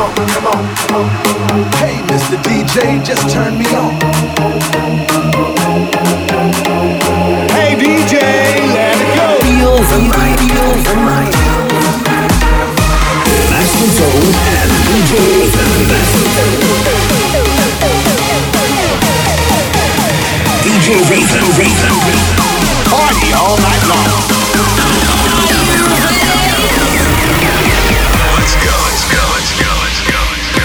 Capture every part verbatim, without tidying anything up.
on, come on, come on. Hey, Mister D J, just turn me on. Hey D J, let it go. Feel the night, feel the night. Master Zone and D J Ethan. D J Ethan, Ethan. Party all night long. Let's go, let's go, let's go, let's go, let's go.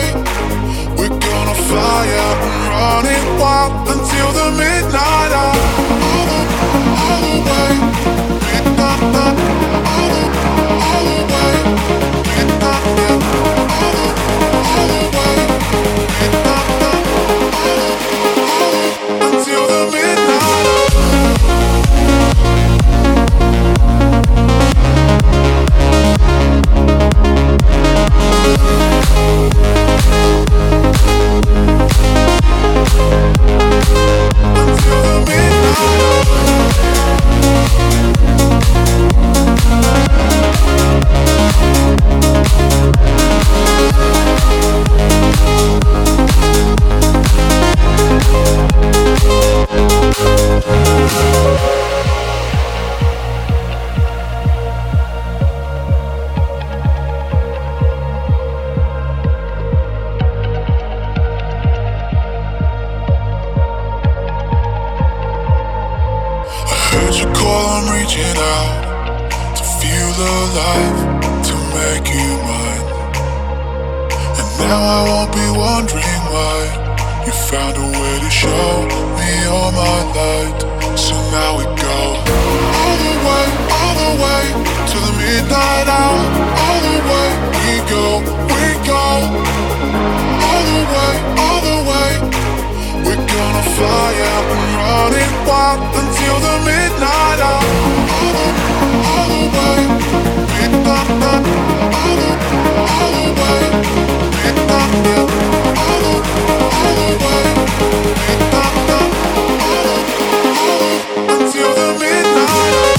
Fly out and run it wild until the midnight hour. reaching out to feel alive, to make you mine. And now I won't be wondering why you found a way to show me all my light. So now we go all the way, all the way to the midnight hour. All the way we go, we go. All the way, all the way. We're gonna fly out and run it wild until the midnight hour. All the, all the way, midnight, all the, all the way, midnight, all the, all the way, midnight, all the, all the, until the midnight hour.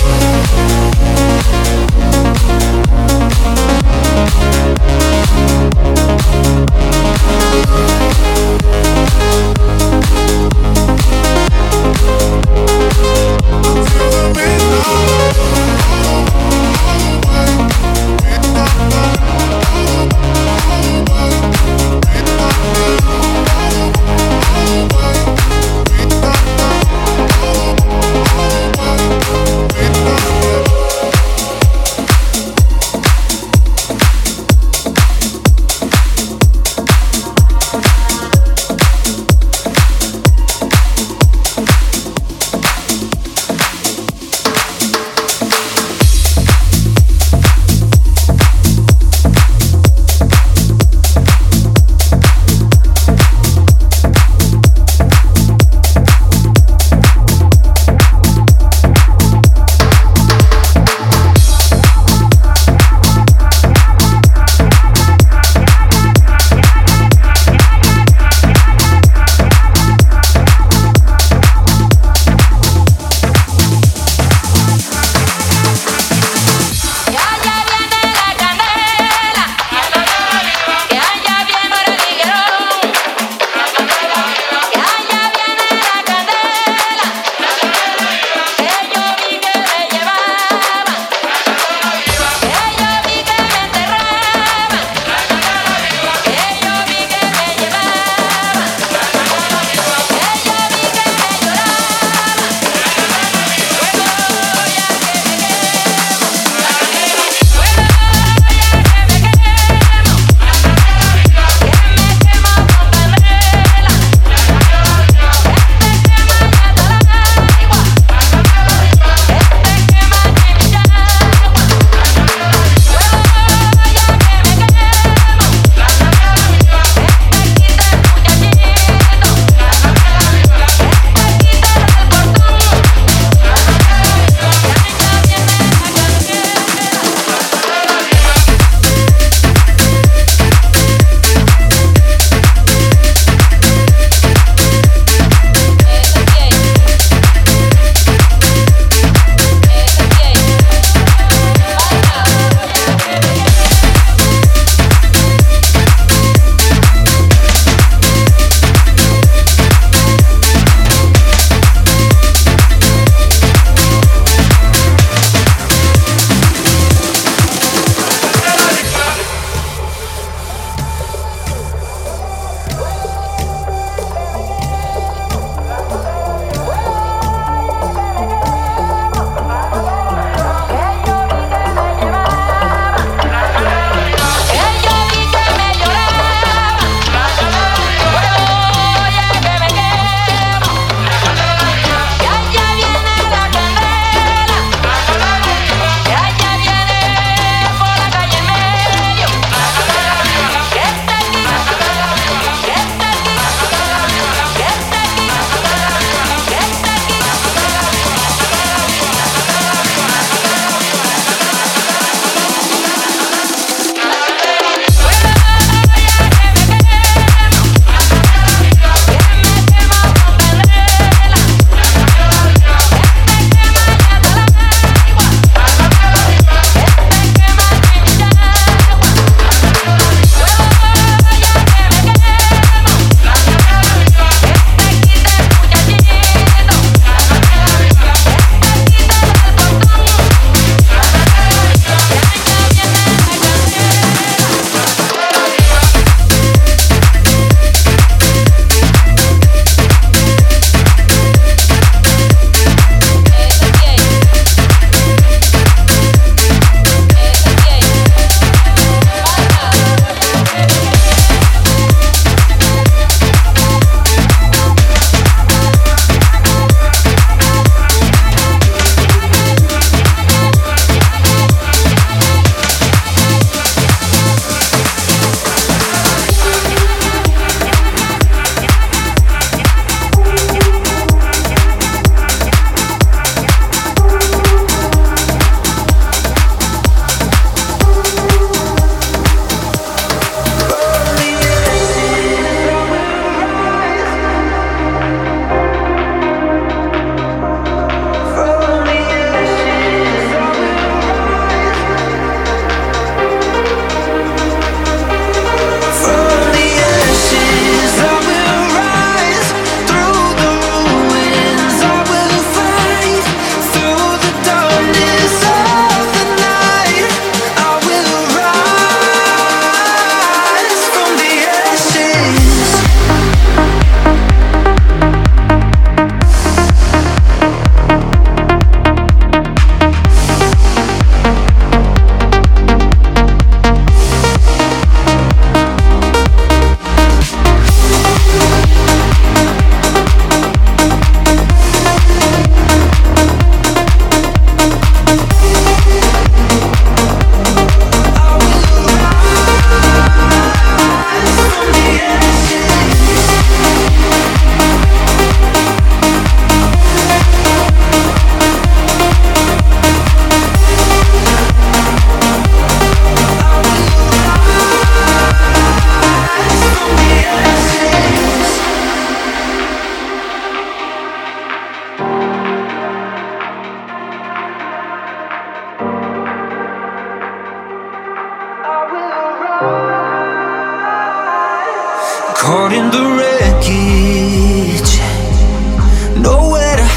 the wreckage, nowhere to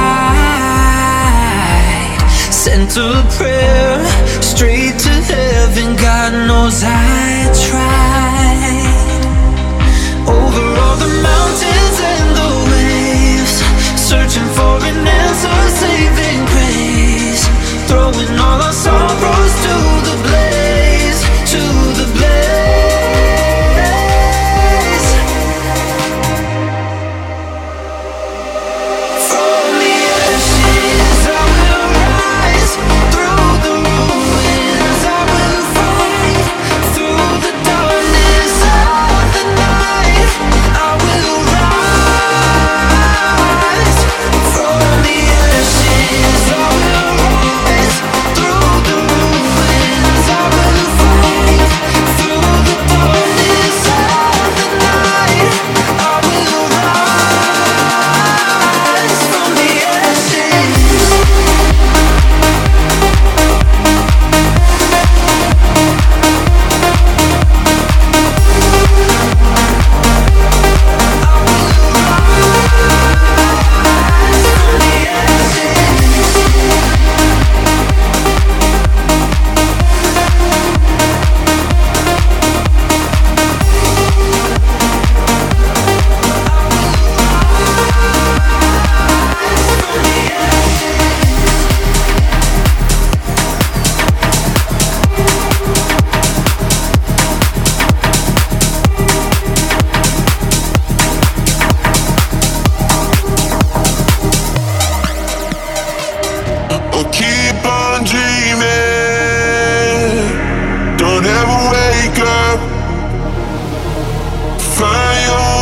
hide. Sent a prayer straight to heaven, God knows I tried. Over all the mountains and the waves, searching for an answer, saving grace, throwing all our sorrows to the blaze, to the blaze. From the ashes I will rise, through the ruins I will fight, through the darkness of the night I will rise. From the ashes I will rise, through the ruins I will fight, through the darkness of the night I will rise. From the ashes. Oh, keep on dreaming. Don't ever wake up. Find your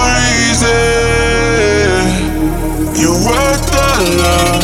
reason. You're worth the love.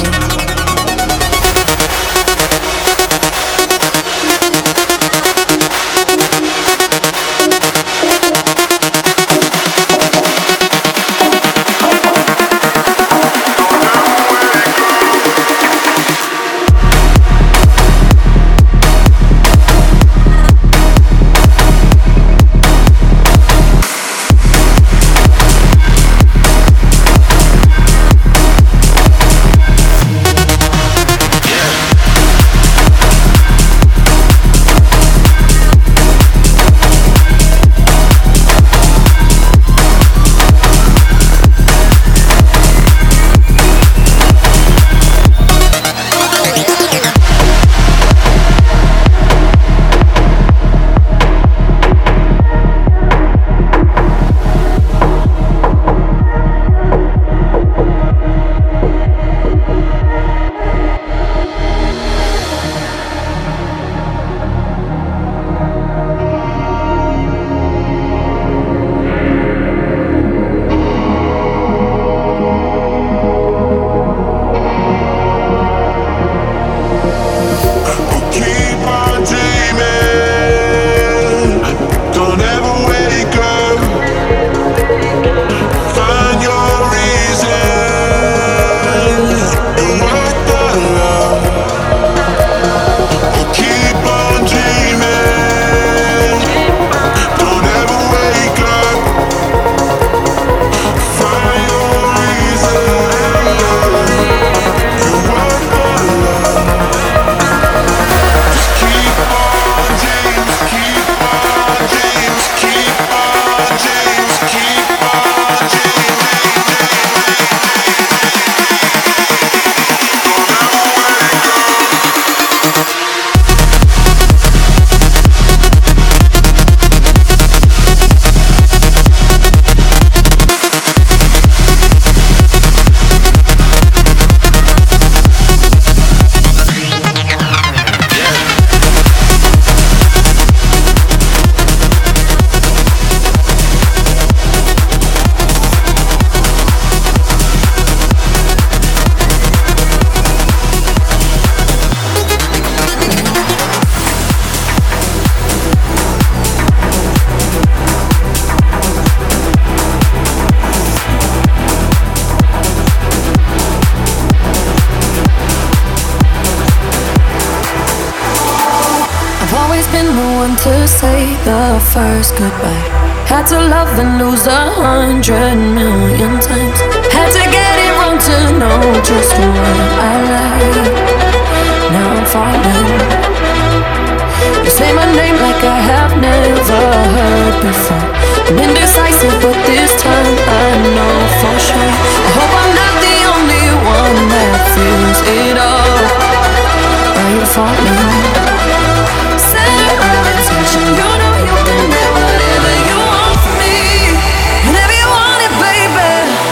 To say the first goodbye. Had to love and lose a hundred million times. Had to get it wrong to know just what I like. Now I'm falling. You say my name like I have never heard before. I'm indecisive, but this time I know for sure. I hope I'm not the only one that feels it all. Are you falling? Center of attention, you know you can get whatever you want from me. Whenever you want it, baby.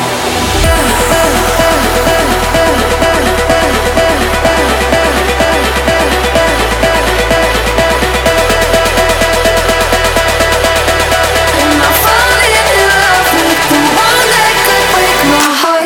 And I'm falling in love with the one that could break my heart.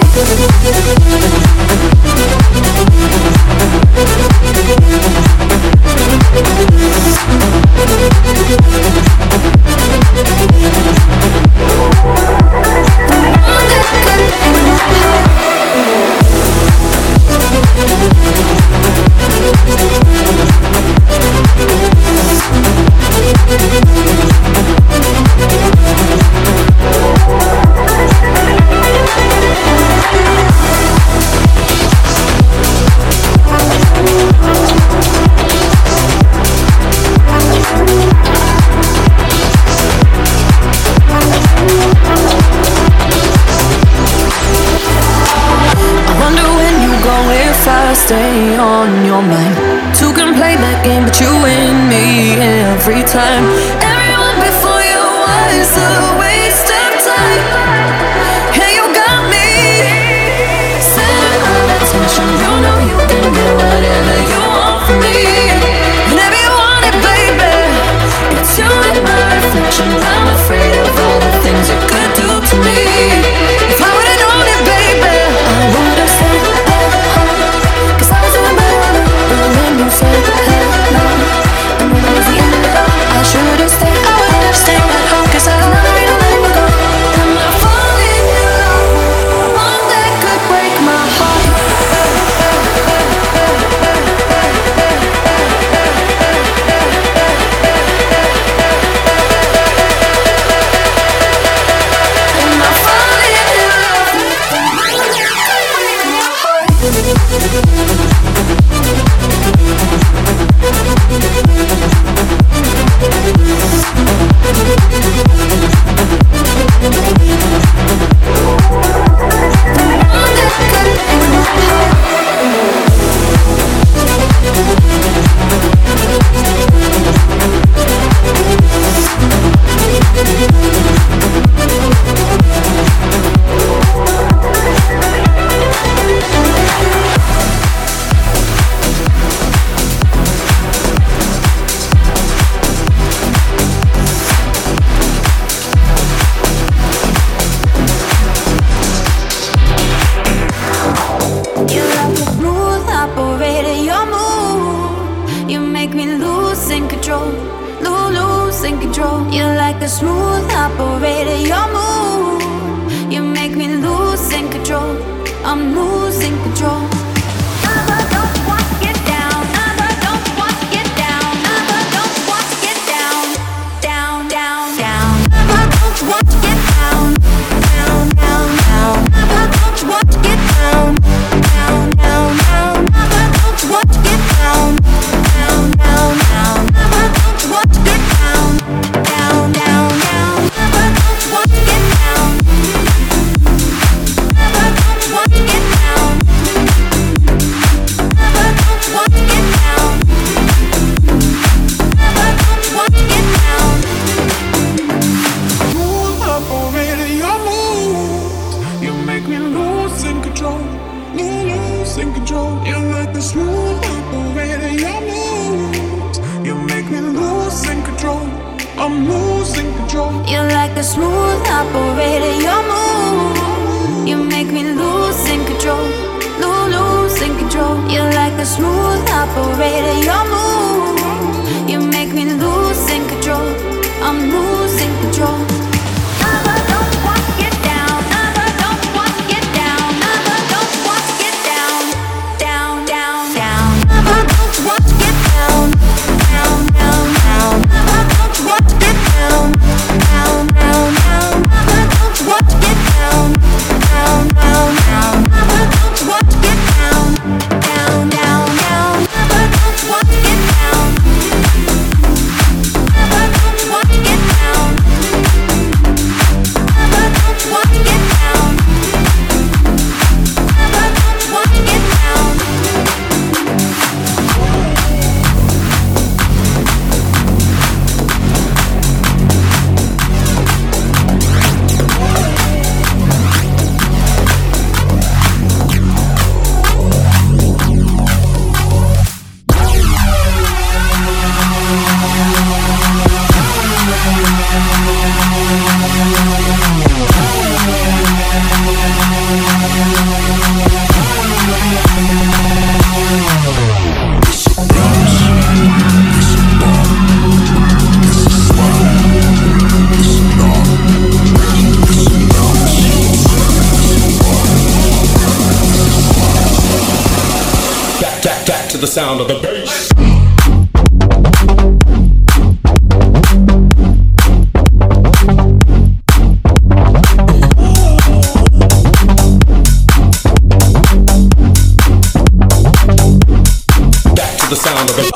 Stay on your mind. Two can play that game, but you win me every time. Everyone before you was a waste of time. Hey, you got me. Center of attention, you know you can get whatever you want from me. Whenever you want it, baby. It's you and my reflection. I'm afraid of all the things you could do to me. If I would've known it, baby, I would've said you said hello, and when it was the end of it all, I should've stayed. I wouldn't have stayed at home, 'cause I was not ready to let you go. And I'm falling in love, one that could break my heart. And I'm falling in love, one that could break my heart. Down, down, down. to the sound of the bass. Back to the sound of the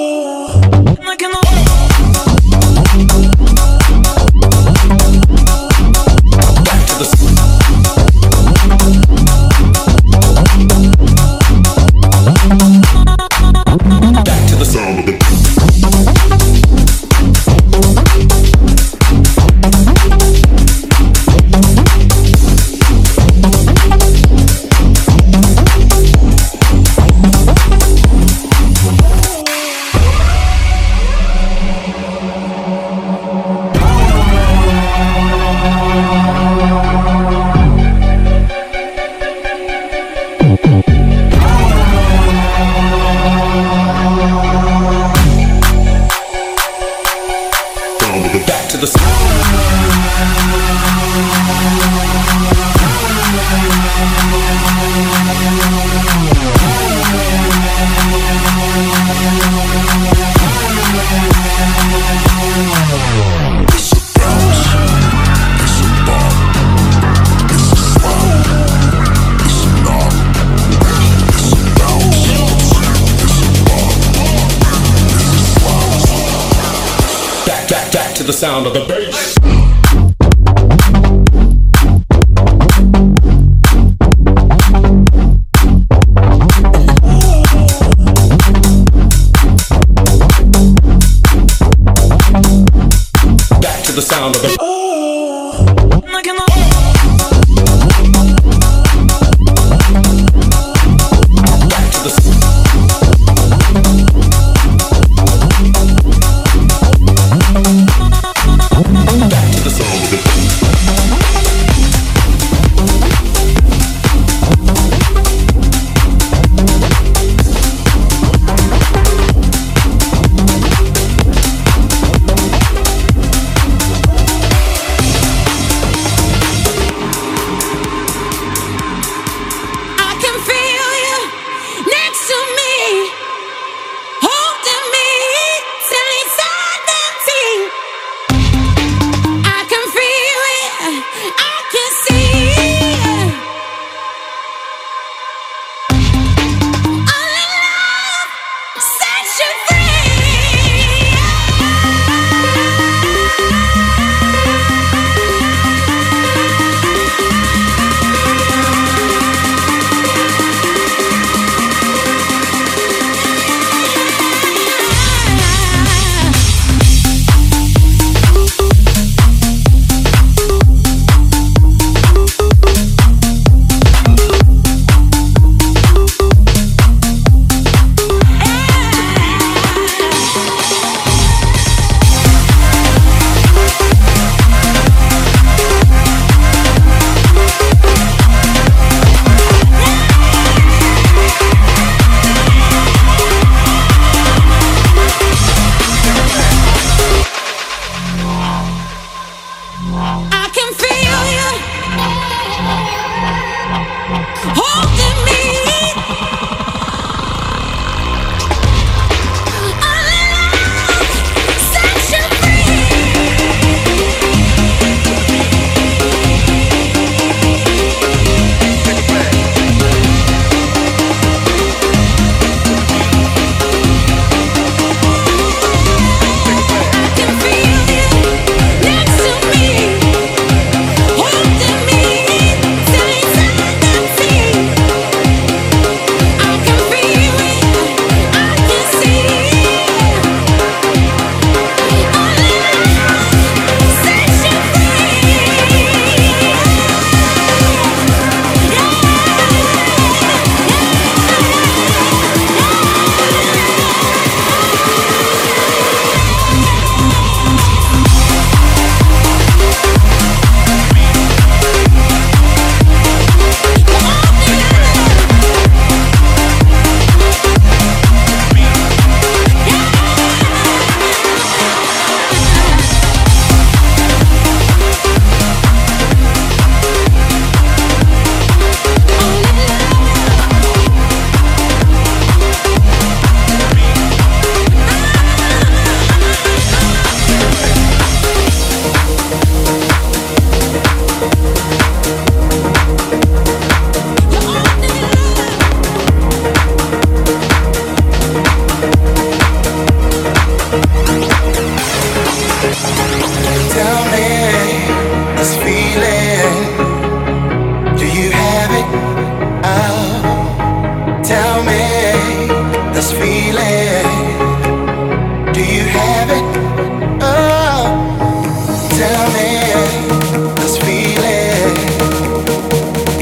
the sound of the bass. Back to the sound of the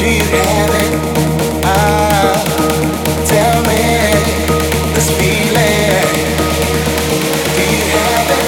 Do you have it? Ah, tell me this feeling. Do you have it?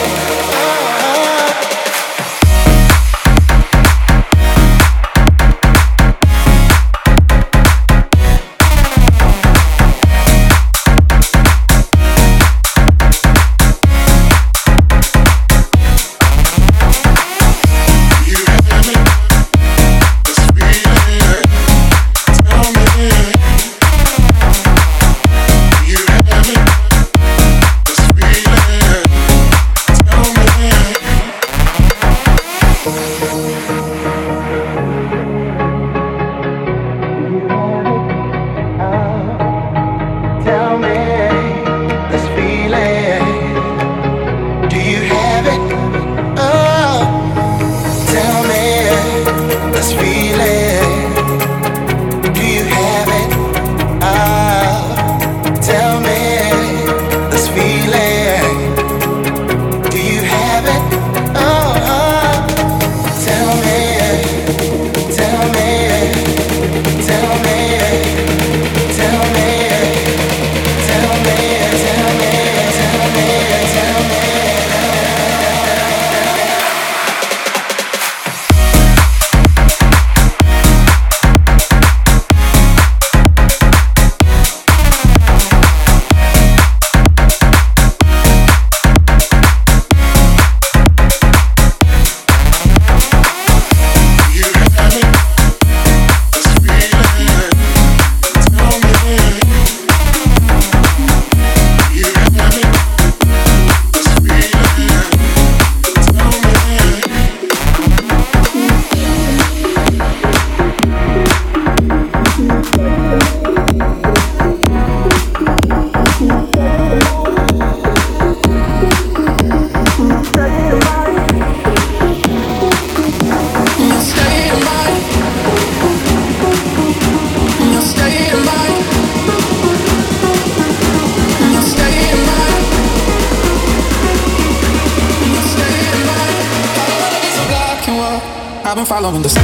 Following the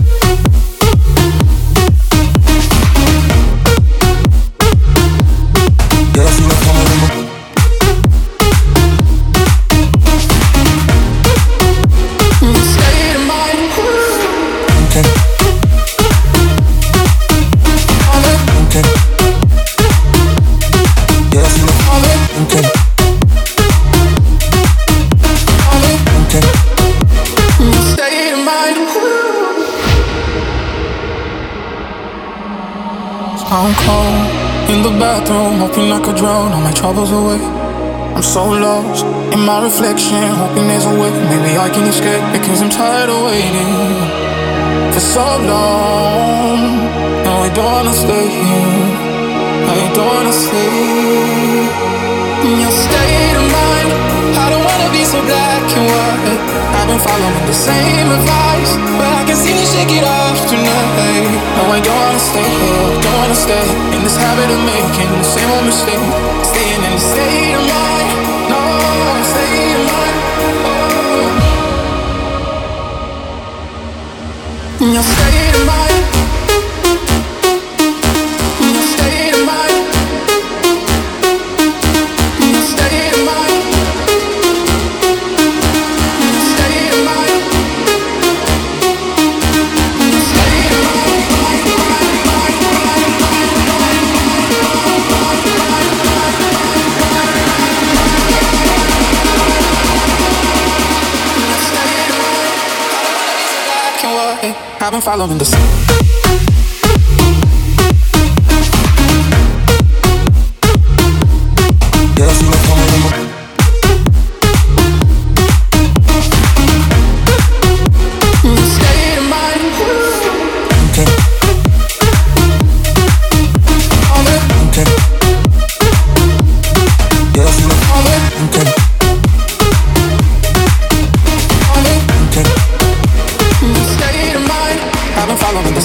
I'm cold in the bathroom, hoping I could drown all my troubles away. I'm so lost in my reflection, hoping there's a way. Maybe I can escape, because I'm tired of waiting for so long. No, I don't wanna stay here, I don't wanna stay in your state of mind. I don't wanna be so black and white. I've been following the same advice, but I can see you shake it off tonight. No, I don't wanna stay here, don't wanna stay in this habit of making the same old mistake. Staying in the state of mind, no, state of mind. Oh. In your state of mind, in your state of mind, in your state of mind. I've been following the sun. I've been following the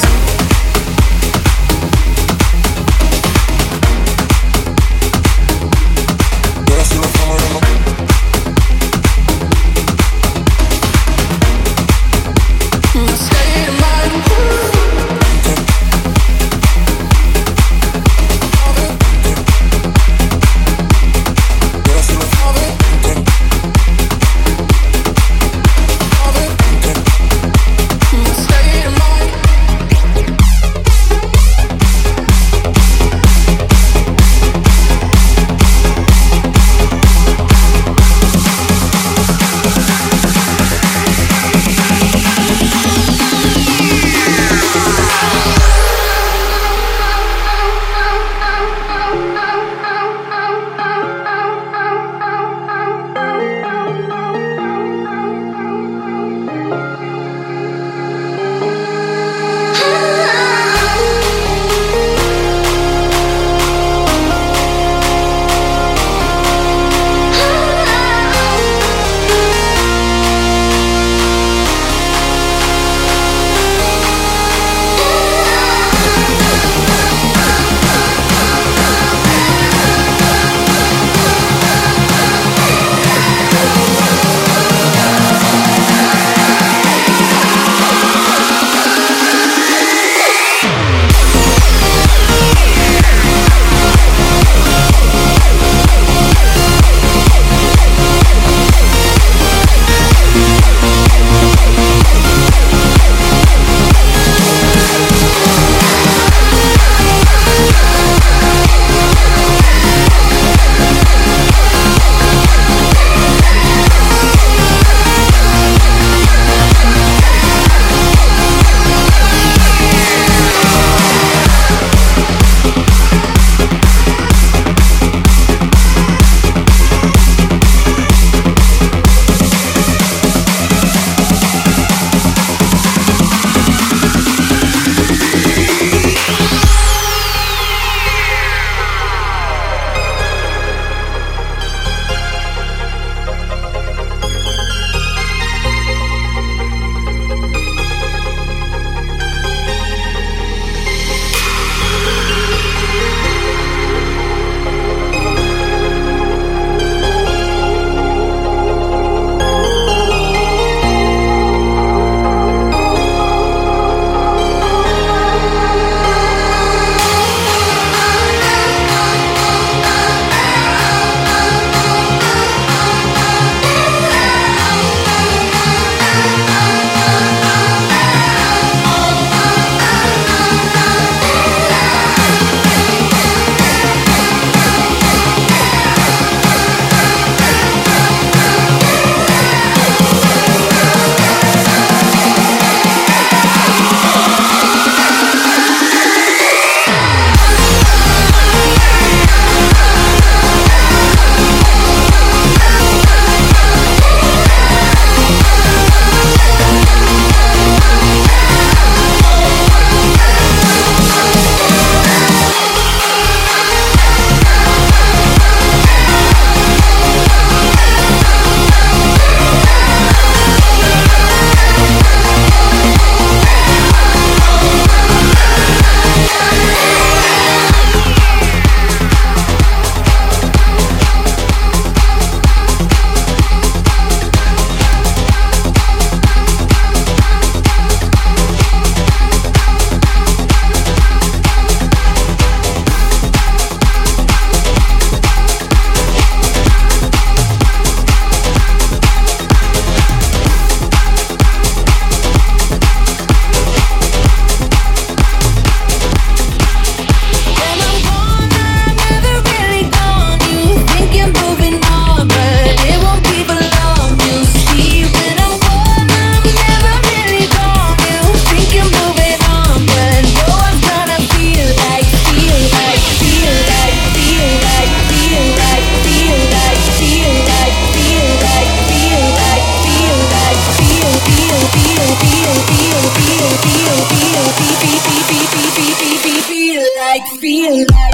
like, feel like.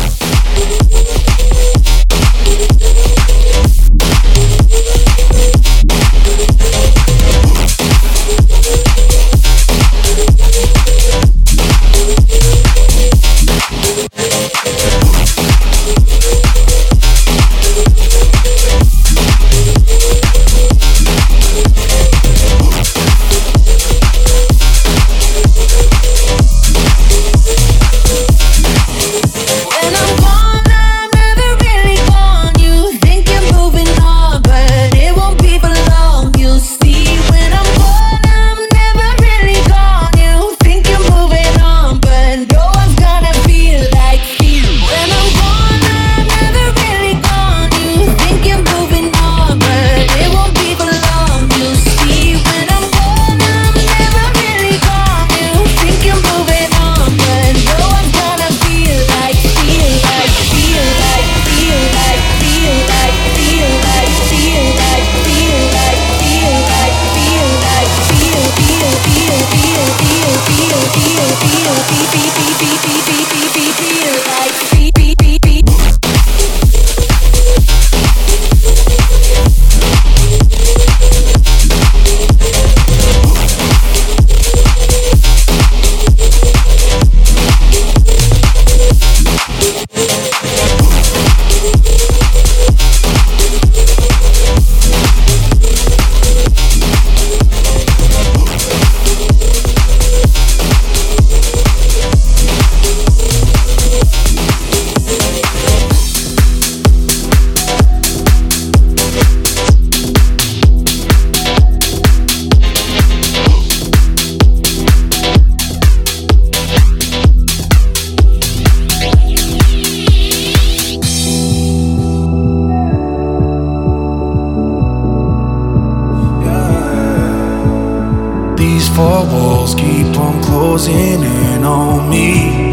four walls keep on closing in on me.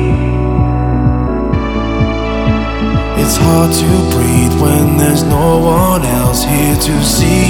It's hard to breathe when there's no one else here to see.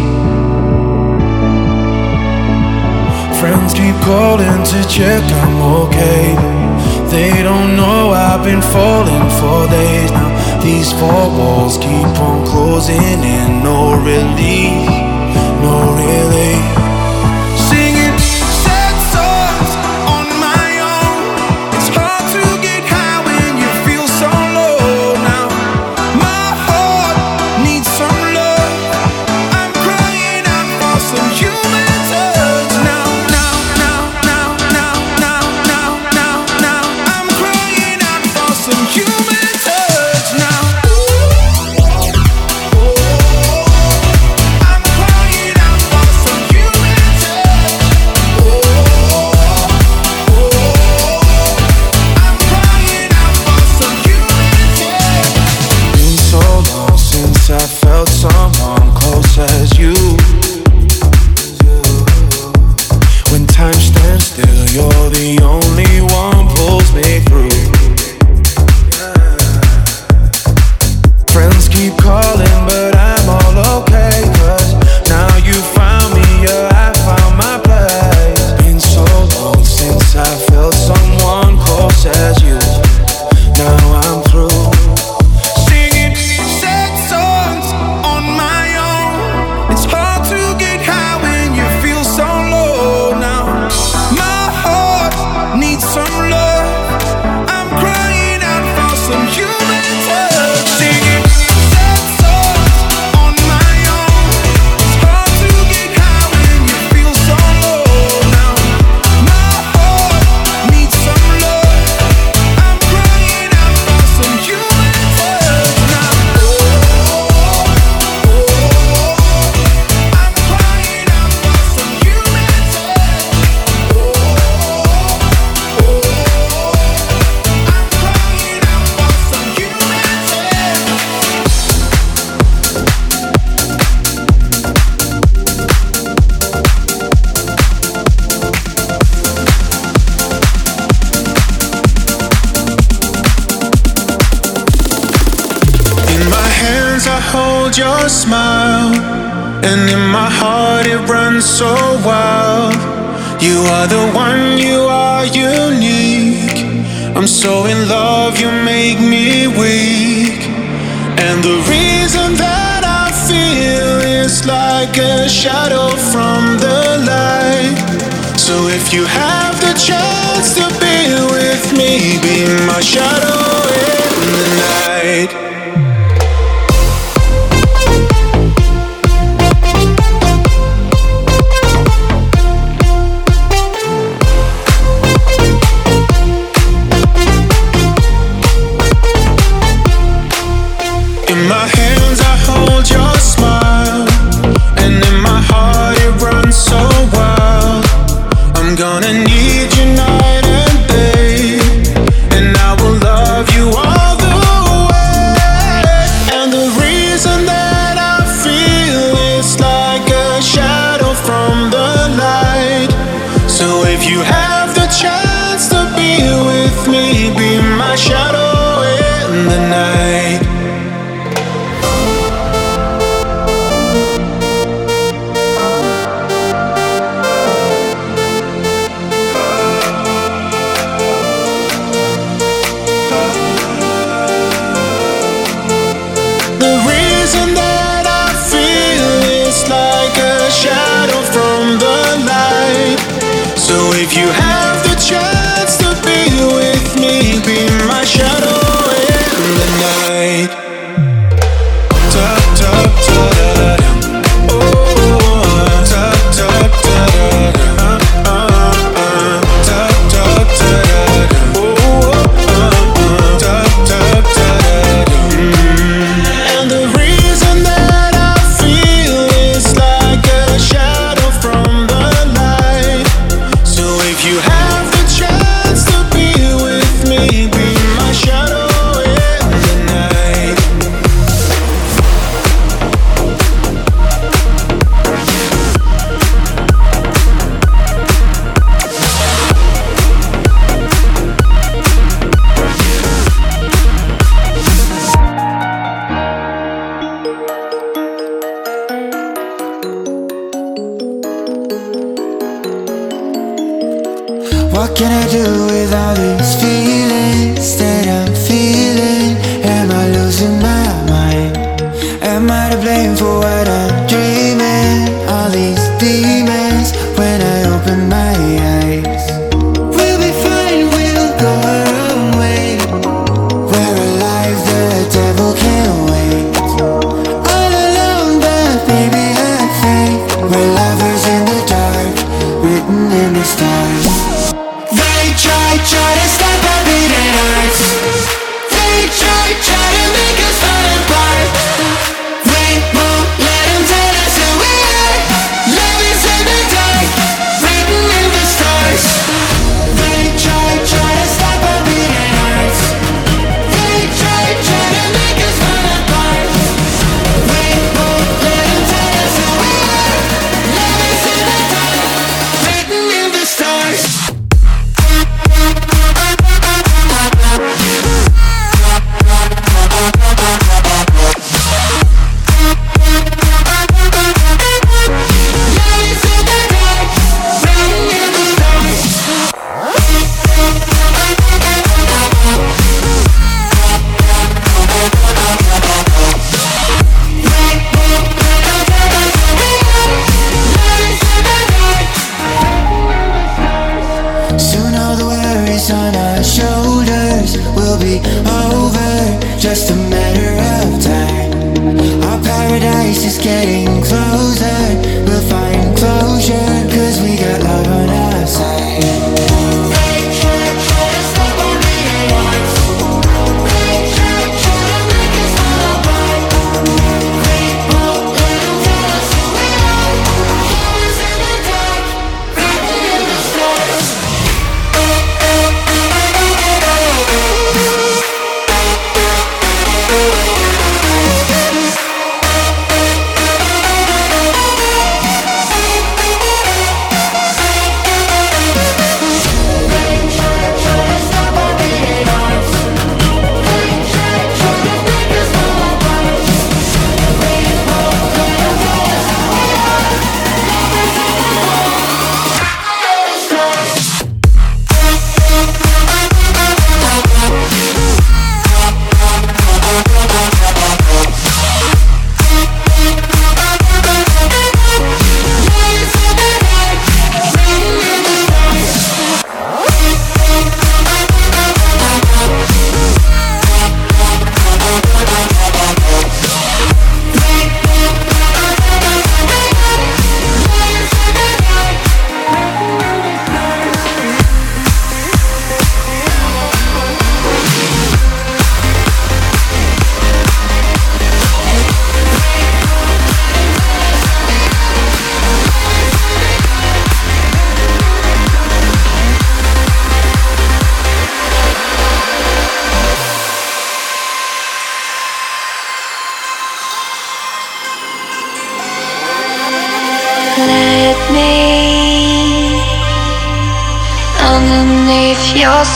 Friends keep calling to check I'm okay. They don't know I've been falling for days now. These four walls keep on closing in, no relief, no relief. Singing sad songs on my own. It's hard to get high when you feel so low now. My heart needs some love. I'm crying out for some human touch now, now, now, now, now, now, now, now, now. I'm crying out for some human touch now. I felt someone close as you. When time stands still, you're the only one pulls me through. Friends keep calling, but I'm all okay, 'cause now you found me, yeah, I found my place. Been so long since I felt someone close as you. Now I'm through. Your smile, and in my heart it runs so wild. You are the one, you are unique. A I'm so in love, you make me weak. And the reason that I feel is like a shadow from the light. So if you have the chance to be with me, be my shadow in the night. In my hands I hold your smile, and in my heart it runs so wild. I'm gonna need you night and day, and I will love you all the way. And the reason that I feel is like a shadow from the light. So if you have the chance to be with me, be my shadow in the night. If you have the chance to be with me, be my shadow in the night. Ta ta ta da da. Oh, ta ta ta da da. Uh uh. Ta ta ta da da. Oh, ta ta ta da da. And the reason that I feel is like a shadow from the light. If you have the chance to be with me, be my shadow in the night. What can I do with all these feelings that I'm feeling? Am I losing my mind? Am I to blame for what I'm dreaming? All these demons when I open my eyes. We'll be fine, we'll go our own way. We're alive, the devil can't wait. All alone, but baby I think we're lovers in the dark, written in the stars. They try, try to stop our beating hearts. They try, try to make us fall apart. We won't let them tell us who we are. Love is in the dark, written in the stars. They try, try to stop our beating hearts. They try, try to make us fall apart. We won't let them tell us who we are. Love is in the dark, written in the stars. Soon all the worries on our shoulders will be over, just a matter of time. Our paradise is getting closer, we'll find closure, cause we got love on our side.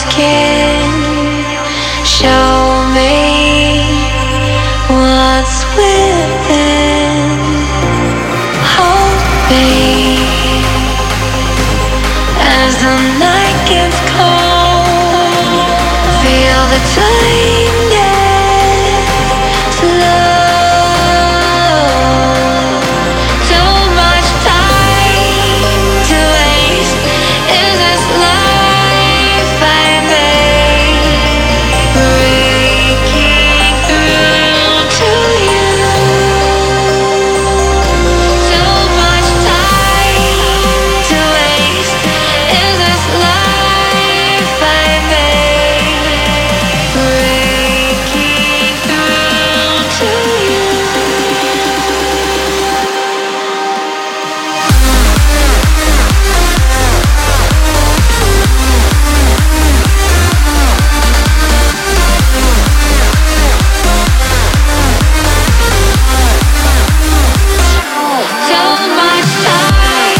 skin. Show me what's within. Hold me as the night gets cold. Feel the time get slow. Too much time to waste. Is this life I made? Breaking through to you. Too much time to waste. Is this life I made? Breaking through to you. Too much time.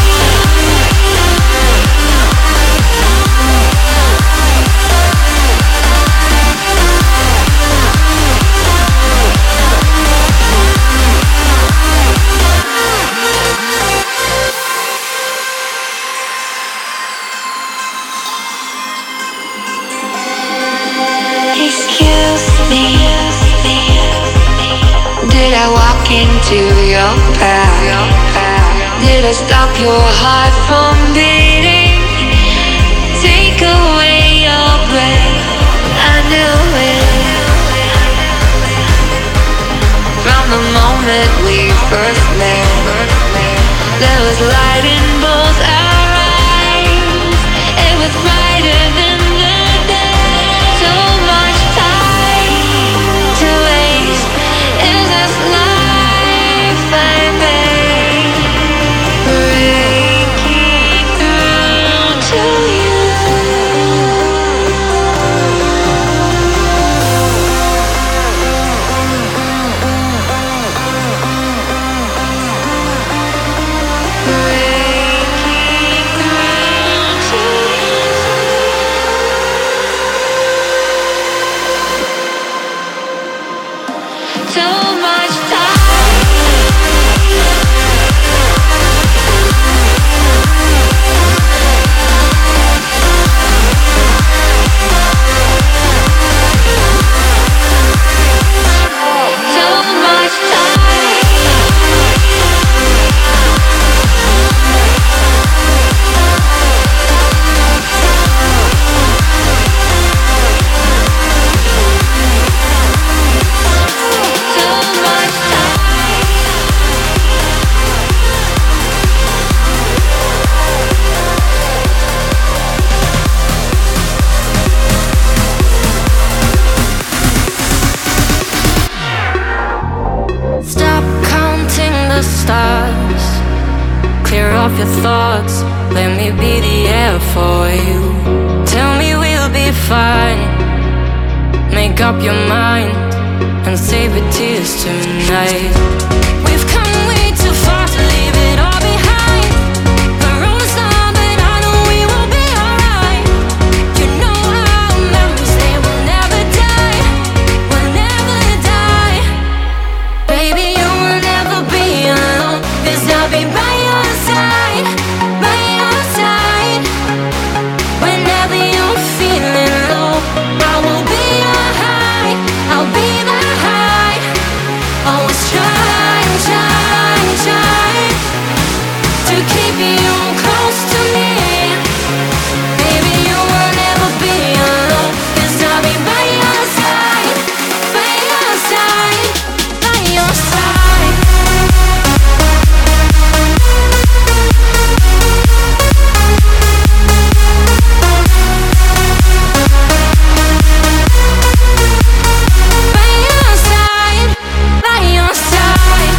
Excuse me, did I walk into your path? Did I stop your heart from beating? Take away your breath. I knew it from the moment we first met. There was light in both our eyes. It was brighter than the day. So much time to waste. Is this life I made? Breaking through to you. Too much Stop counting the stars. Clear off your thoughts. Let me be the air for you. Tell me we'll be fine. Make up your mind and save your tears tonight. We've come way too far to leave it all behind. The road's long, but I know we will be alright. You know our memories, they will never die. Will never die. Baby, you will never be alone. 'Cause I'll be by your side, by your side. Whenever you're feeling low, I will be your high. I'll be the high. Always try, try, try to keep you close to me. Baby, you will never be alone. 'Cause I'll be by your side, by your side, by your side. By your side, by your side.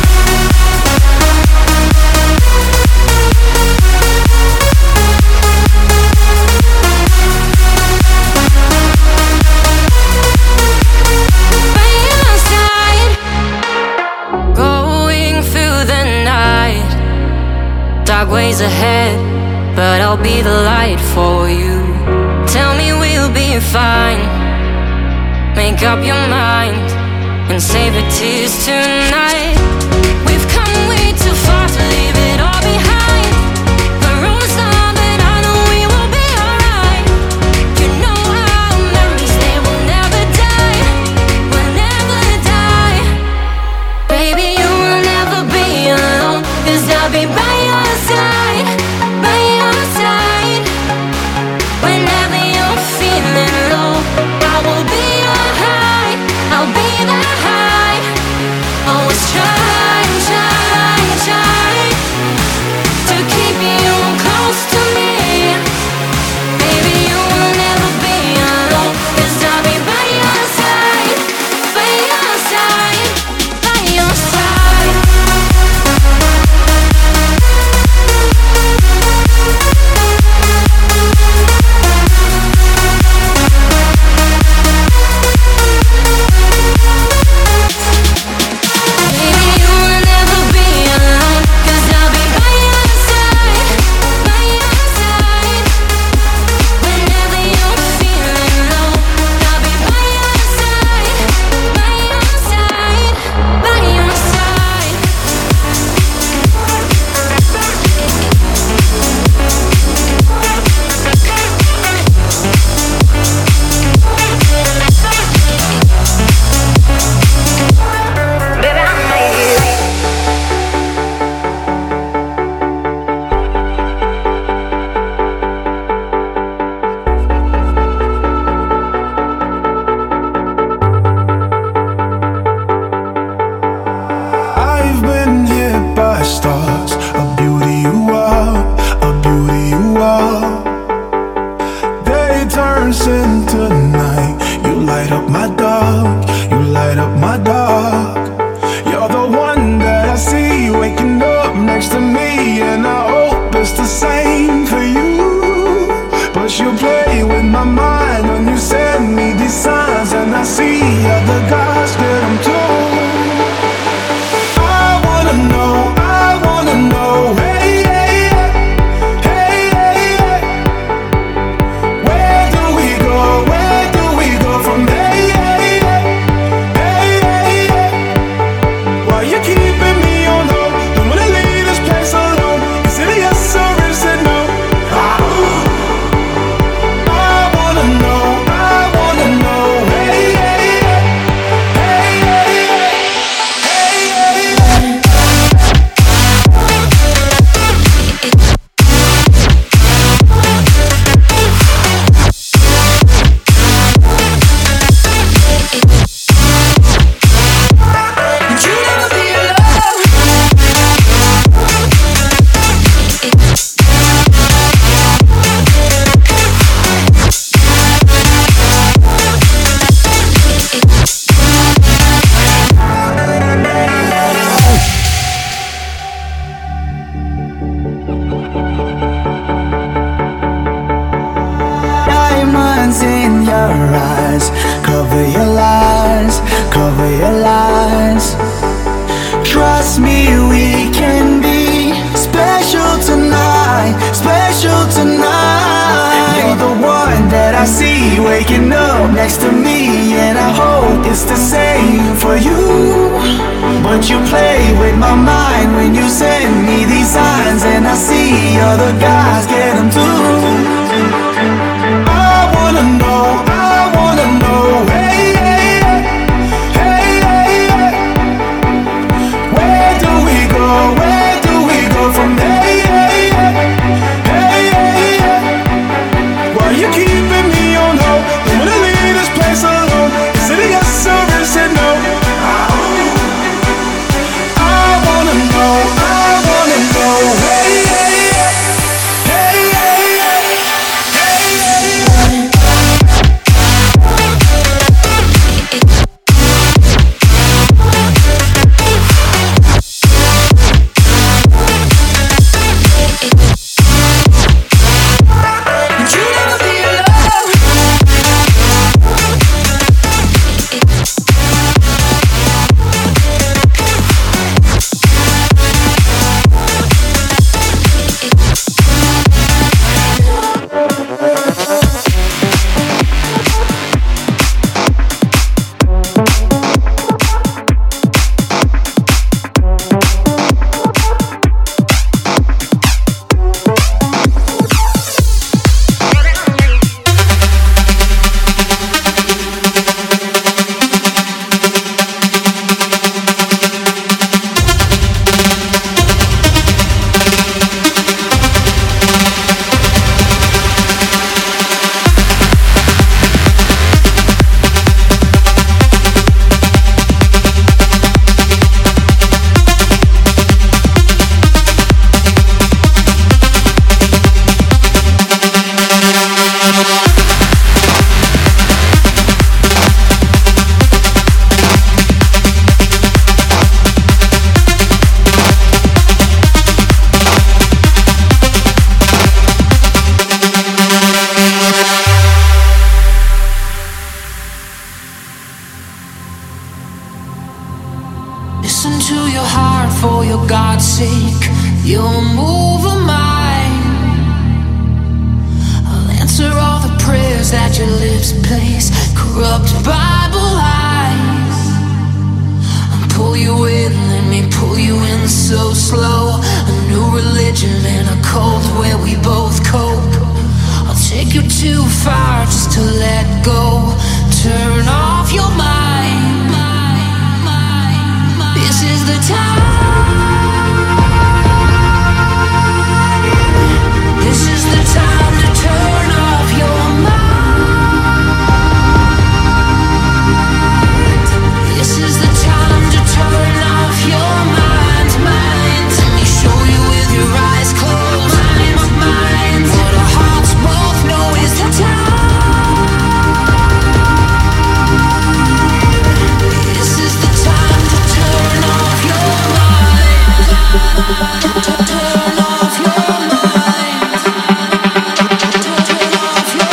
By your side. Going through the night. Dark ways ahead, but I'll be the light for you. Tell me we'll be be fine. Make up your mind and save your tears tonight. We've come way too far to leave it all behind. The road's long, but I know we will be alright. You know our memories, they will never die, will never die. Baby, you will never be alone, 'cause I'll be by your side, by your side. Whenever you're feeling low, I will be your high, I'll be the high. Always try, try, try to keep you close to me. Baby, you will never be alone, 'cause I'll be by your side, by your side, by your side. Baby, you will never be alone, 'cause I'll be by your side, by your side. Whenever you're feeling low, I'll be by your side, by your side, by your side. Baby, I made it. I've been hit by stars, a beauty you are, a beauty you are. Day turns into night, you light up my dark, you light up my dark. You're the one that I see waking up next to me, and I hope it's the same for you. But you play with my mind when you send me these signs, and I see other guys get them too. I wanna know, I wanna know, hey, hey, hey, hey, hey. Where do we go, where do we go from there, hey, hey, hey, hey, hey. Why you keeping me on hold? Don't wanna leave this place alone. Is it a yes or is it no? I wanna know, I wanna know, hey, hey, hey, hey, hey, hey, hey. You never be alone. Diamonds in your eyes, cover your lies, cover your lies. Trust me, we can be special tonight, special tonight. You're the one that I see waking up next to me, and I hope it's the same for you. But you play with my mind when you send me these signs, and I see other guys get them too. I wanna know, I wanna know, hey, hey, hey, hey, hey. Where do we go, where do we go from there, hey, hey, hey, hey, hey. Why you keeping me on hold? Don't wanna leave this place alone. Is it a yes or is it no? I wanna know, I wanna know, hey, hey, hey, hey, hey. to your heart for your God's sake. You'll move a mine. I'll answer all the prayers that your lips place. Corrupt Bible eyes. I'll pull you in, let me pull you in so slow. A new religion and a cult where we both cope. I'll take you too far just to let go. Turn off your mind. This is the time. This is the time to turn off your mind. This is the time to turn off your mind, mind. Let me show you with your eyes closed. Mind, mind. What our hearts both know is the time. This is the time to turn off your mind. Turn off your mind. Turn off your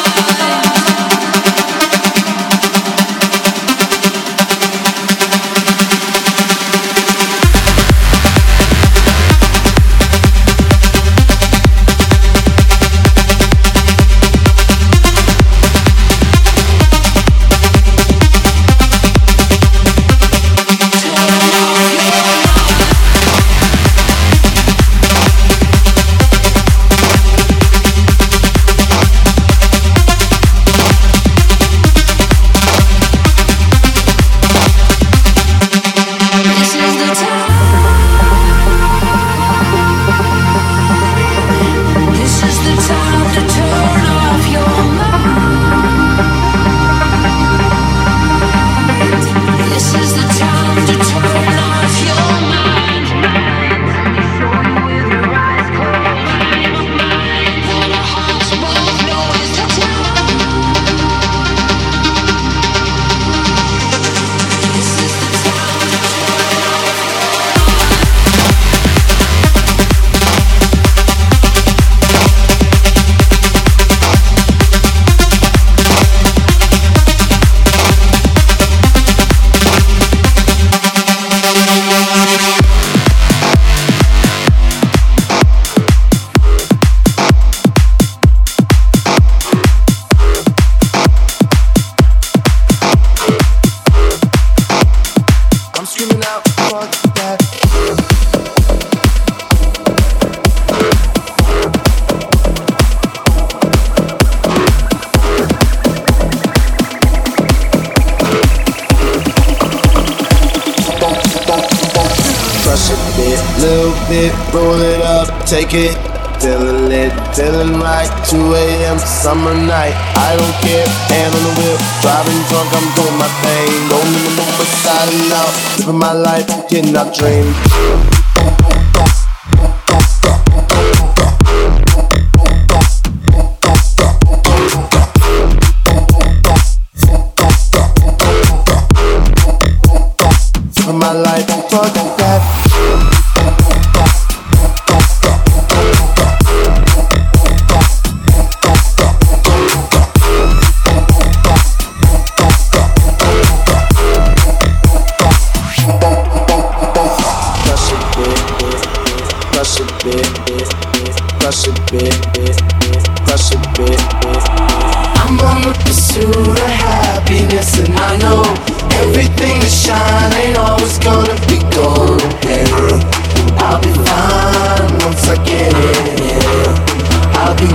Take it, feeling lit, feeling right. two a.m. summer night. I don't care, hand on the wheel, driving drunk, I'm doing my thing. Going in the moment, silent out, living my life, getting out dream. Living my life, fuck that. I'm on the pursuit of happiness, and I know everything that shine ain't always gonna be gold. I'll be fine once I get it. I'll be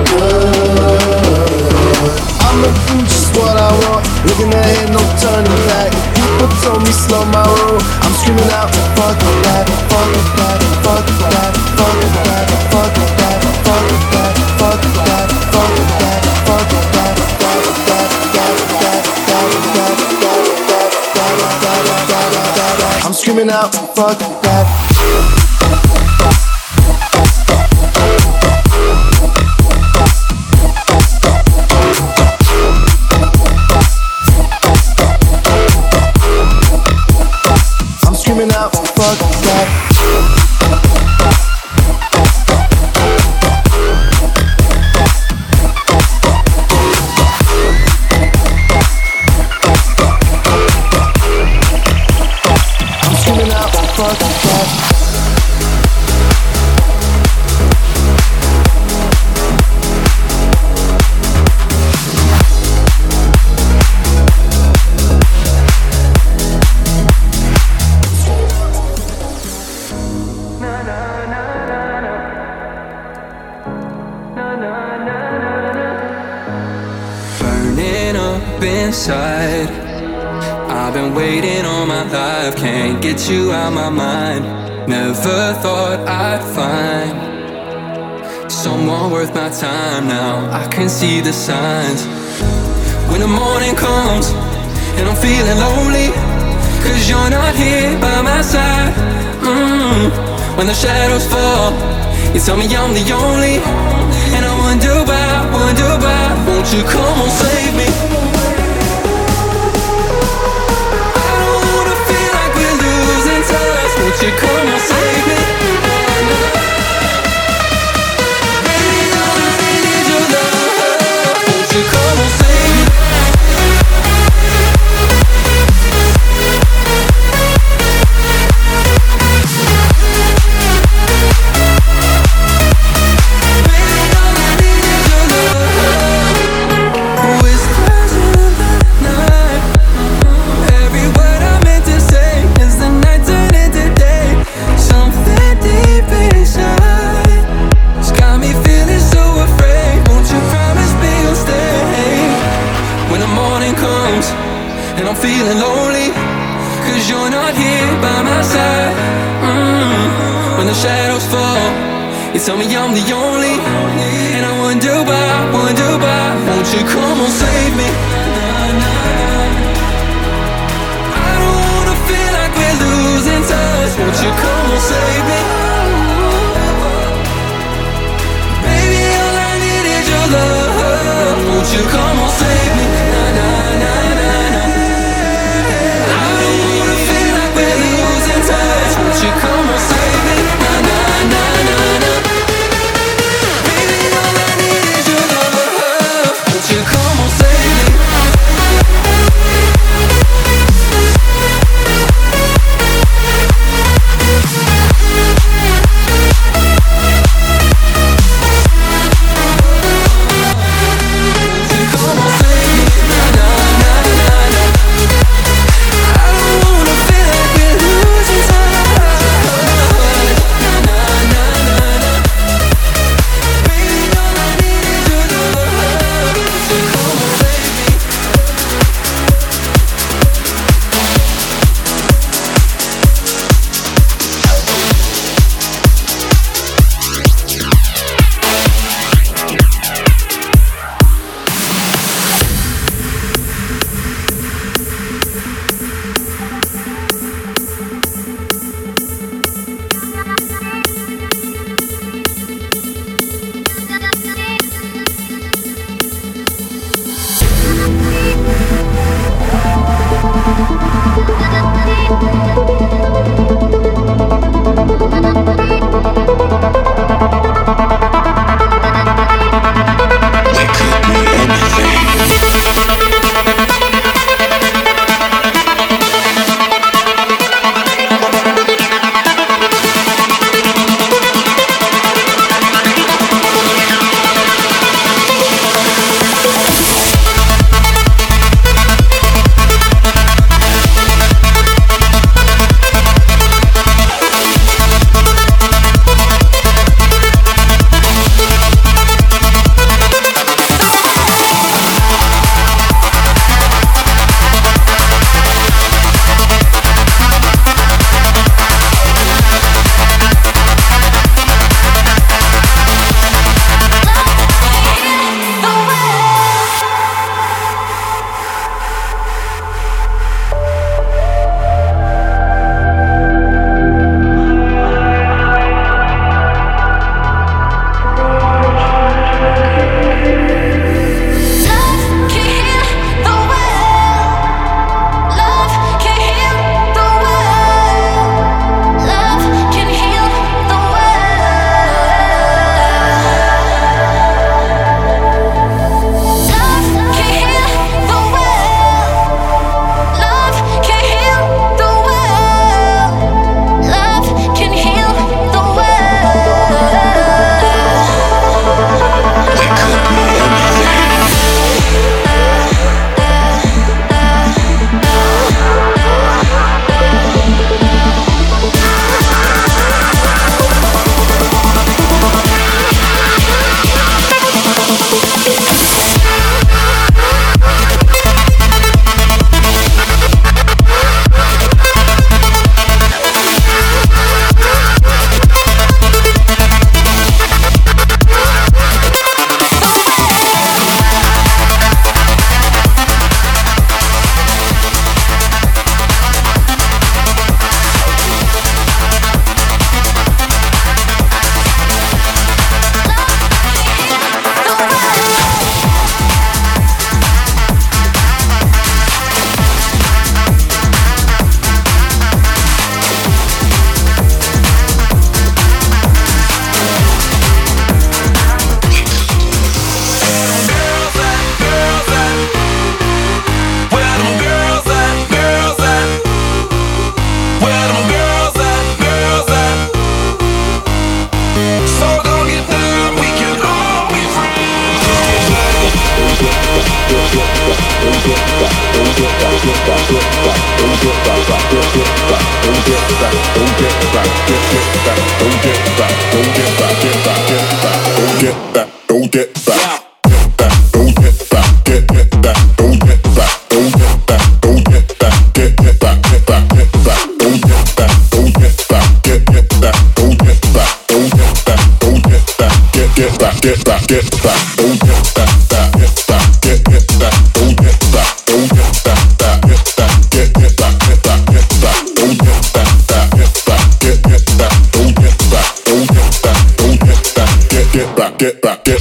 good. I'ma do just what I want, looking ahead, no turning back. People told me slow my roll, I'm screaming out, fuck that, fuck that, fuck that, fuck that, fuck that, fuck that, fuck that, fuck that, fuck that, fuck that, I'm screaming out, fuck that. Fuck that. I'm screaming out, fuck inside. I've been waiting all my life, can't get you out my mind. Never thought I'd find someone worth my time. Now I can see the signs. When the morning comes and I'm feeling lonely, cause you're not here by my side. mm. When the shadows fall, you tell me I'm the only, and I wonder why, wonder why. Won't you come on, save me? I don't wanna feel like we're losing touch. Won't you come on, save me? Baby, all I need is your love. Won't you come on, save me? And I'm feeling lonely, cause you're not here by my side. mm. When the shadows fall, you tell me I'm the only, and I wonder why, wonder why. Won't you come on, save me? I don't wanna feel like we're losing touch. Won't you come on, save me? Baby, all I need is your love. Won't you come on, save me? Na, na, na, na, na. Won't you come and save me? Na na na na na. Baby, all I need is your love. Won't you come and save me? Get back, get